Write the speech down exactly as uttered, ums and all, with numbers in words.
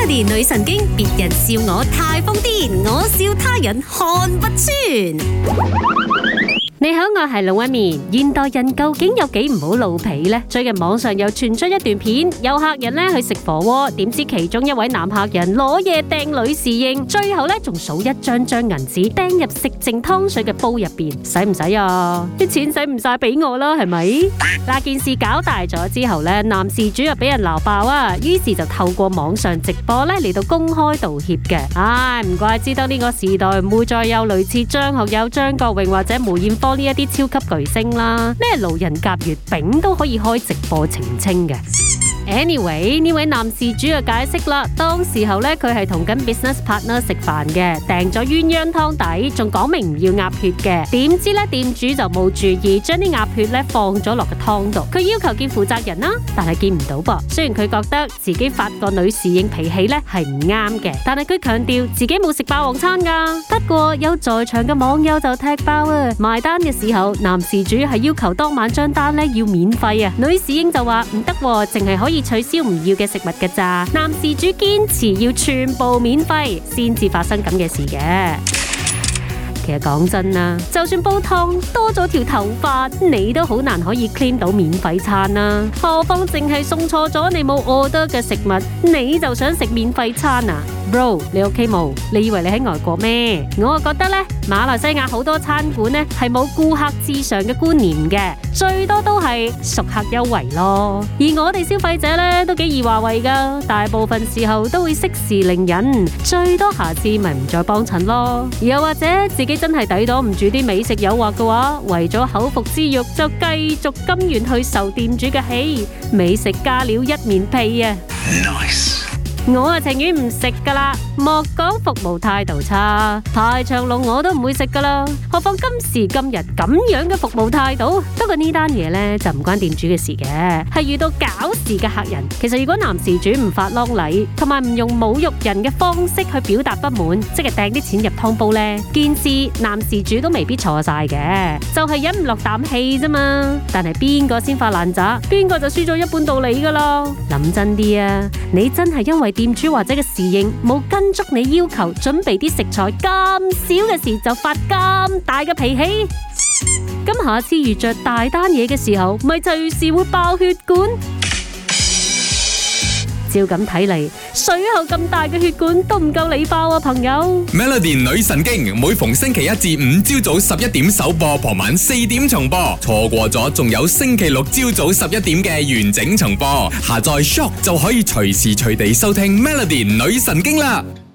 Melody 女神經，別人笑我太瘋癲，我笑他人看不穿。你好，我係龍紋敏。現代人究竟有幾唔好老皮呢？最近網上又傳出一段片，有客人咧去食火鍋，點知其中一位男客人攞嘢掟女侍應，最後咧仲數一張張銀紙掟入食剩湯水嘅煲入邊，使唔使啊？啲錢使唔晒俾我啦，係咪？嗱，件事搞大咗之後咧，男事主又俾人鬧爆啊，於是就透過網上直播咧嚟到公開道歉嘅。唉，唔怪之得呢個時代唔會再有類似張學友、張國榮或者梅艷芳呢一啲超級巨星啦，咩路人甲、月餅都可以開直播澄清嘅。Anyway， 呢位男事主就解釋啦，當時候咧佢係同緊 business partner 食飯嘅，訂咗鴛鴦湯底，仲講明唔要鴨血嘅。點知咧店主就冇注意，將啲鴨血咧放咗落個湯度。佢要求見負責人啦，但係見唔到噃。雖然佢覺得自己發個女侍應脾氣咧係唔啱嘅，但係佢強調自己冇食霸王餐噶。不過有在場嘅網友就踢爆啊！埋單嘅時候，男事主係要求當晚張單咧要免費啊，女侍應就話唔得，淨係可以取消唔要嘅食物嘅咋。男事主堅持要全部免費，先至發生咁嘅事嘅。其實講真啦，就算煲湯多咗條頭髮，你都好難可以 claim 到免費餐啦。何況淨係送錯咗你冇 order 嘅食物，你就想食免費餐啊 ？Bro， 你 OK 冇？你以為你喺外國咩？我啊覺得咧，馬來西亞好多餐館咧係冇顧客至上嘅觀念嘅，最多都係熟客優惠咯。而我哋消費者咧都幾易話為噶，大部分時候都會息事寧人，最多下次咪唔再幫襯咯。又或者自己真係抵擋唔住啲美食誘惑嘅話，為咗口腹之欲就繼續甘願去受店主嘅氣，美食加料一面屁啊！ Nice。 我啊情願唔食噶啦，莫講服務態度差，排長龍我都唔會食噶啦。何況今時今日咁樣嘅服務態度。不過呢單嘢呢，就唔關店主嘅事嘅，係遇到搞事嘅客人。其實如果男事主唔發啷禮，同埋唔用侮辱人嘅方式去表達不滿，即係掟啲錢入湯煲呢，件事男事主都未必錯晒嘅，就係忍唔落啖氣啫嘛。但係邊個先發爛渣，邊個就輸咗一半道理噶啦。諗真啲啊，你真係因為店主或者嘅侍應冇跟足你要求，準備啲食材咁少嘅事就發咁大嘅脾氣，咁下次遇着大單嘢嘅時候，咪隨時會爆血管。照咁睇嚟，水喉咁大嘅血管都唔夠你爆啊，朋友。 Melody 女神經每逢星期一至五朝早十一點首播，傍晚四點重播。錯過咗，仲有星期六朝早十一點嘅完整重播。下載 Shock 就可以隨時隨地收聽 Melody 女神經啦。